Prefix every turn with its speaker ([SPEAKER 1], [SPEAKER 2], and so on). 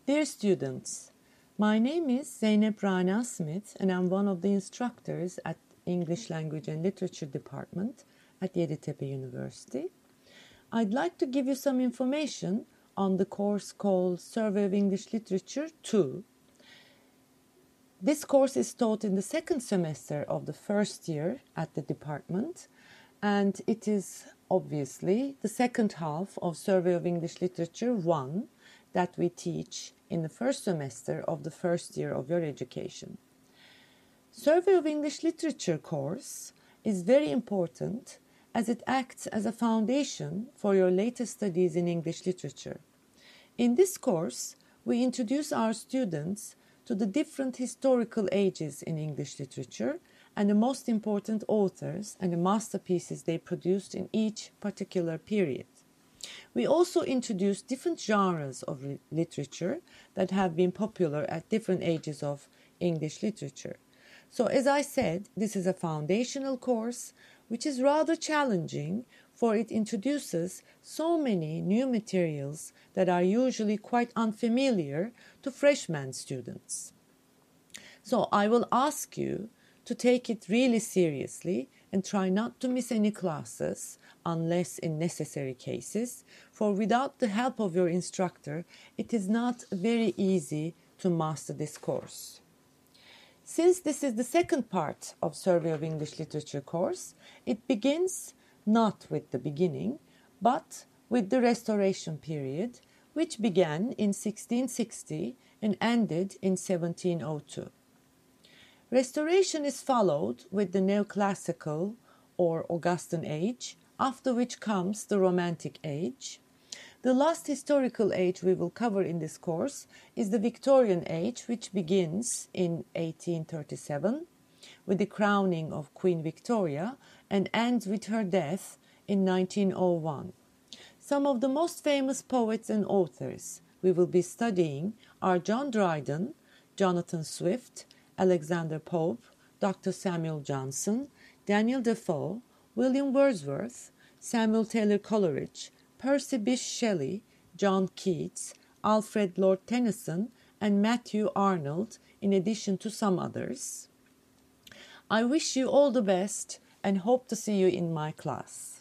[SPEAKER 1] Dear students, my name is Zeynep Rana Smith and I'm one of the instructors at English Language and Literature Department at Yeditepe University. I'd like to give you some information on the course called Survey of English Literature 2. This course is taught in the second semester of the first year at the department, and it is obviously the second half of Survey of English Literature 1 that we teach in the first semester of the first year of your education. Survey of English Literature course is very important as it acts as a foundation for your later studies in English literature. In this course, we introduce our students to the different historical ages in English literature and the most important authors and the masterpieces they produced in each particular period. We also introduce different genres of literature that have been popular at different ages of English literature. So as I said, this is a foundational course which is rather challenging, for it introduces so many new materials that are usually quite unfamiliar to freshman students. So I will ask you to take it really seriously and try not to miss any classes unless in necessary cases, for without the help of your instructor, it is not very easy to master this course. Since this is the second part of Survey of English Literature course, it begins not with the beginning, but with the Restoration period, which began in 1660 and ended in 1702. Restoration is followed with the Neoclassical or Augustan age, after which comes the Romantic age. The last historical age we will cover in this course is the Victorian age, which begins in 1837 with the crowning of Queen Victoria and ends with her death in 1901. Some of the most famous poets and authors we will be studying are John Dryden, Jonathan Swift, Alexander Pope, Dr. Samuel Johnson, Daniel Defoe, William Wordsworth, Samuel Taylor Coleridge, Percy Bysshe Shelley, John Keats, Alfred Lord Tennyson, and Matthew Arnold, in addition to some others. I wish you all the best and hope to see you in my class.